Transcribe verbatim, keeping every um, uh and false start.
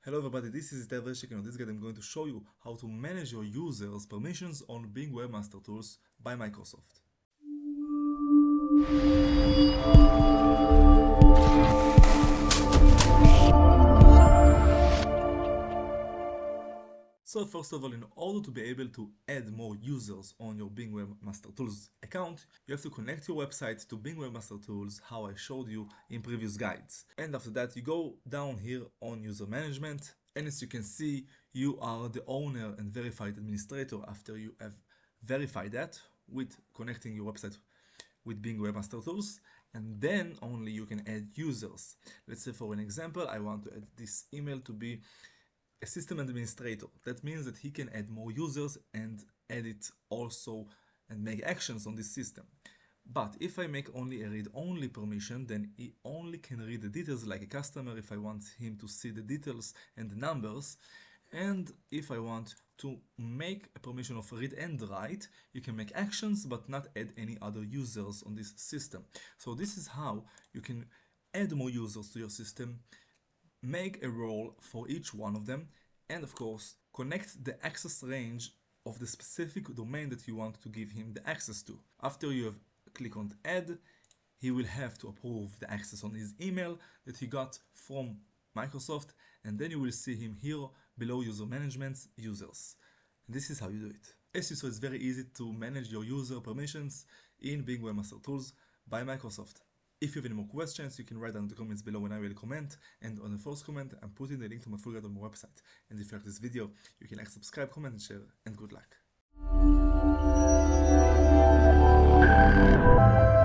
Hello everybody, this is Ted Reshik, and in this guide I'm going to show you how to manage your users' permissions on Bing Webmaster Tools by Microsoft. So first of all, in order to be able to add more users on your Bing Webmaster Tools account, you have to connect your website to Bing Webmaster Tools, how I showed you in previous guides. And after that, you go down here on User Management, and as you can see, you are the owner and verified administrator after you have verified that with connecting your website with Bing Webmaster Tools, and then only you can add users. Let's say for an example, I want to add this email to be a system administrator. That means that he can add more users and edit also and make actions on this system. But if I make only a read-only permission, then he only can read the details like a customer if I want him to see the details and the numbers. And if I want to make a permission of read and write, you can make actions but not add any other users on this system. So this is how you can add more users to your system, make a role for each one of them, and of course connect the access range of the specific domain that you want to give him the access to. After you have click on add, he will have to approve the access on his email that he got from Microsoft, and then you will see him here below user management users. And this is how you do it. As you saw, it's very easy to manage your user permissions in Bing Webmaster Tools by Microsoft. If you have any more questions, you can write down in the comments below and I will comment. And on the first comment, I'm putting the link to my full guide on my website. And if you like this video, you can like, subscribe, comment, and share. And good luck.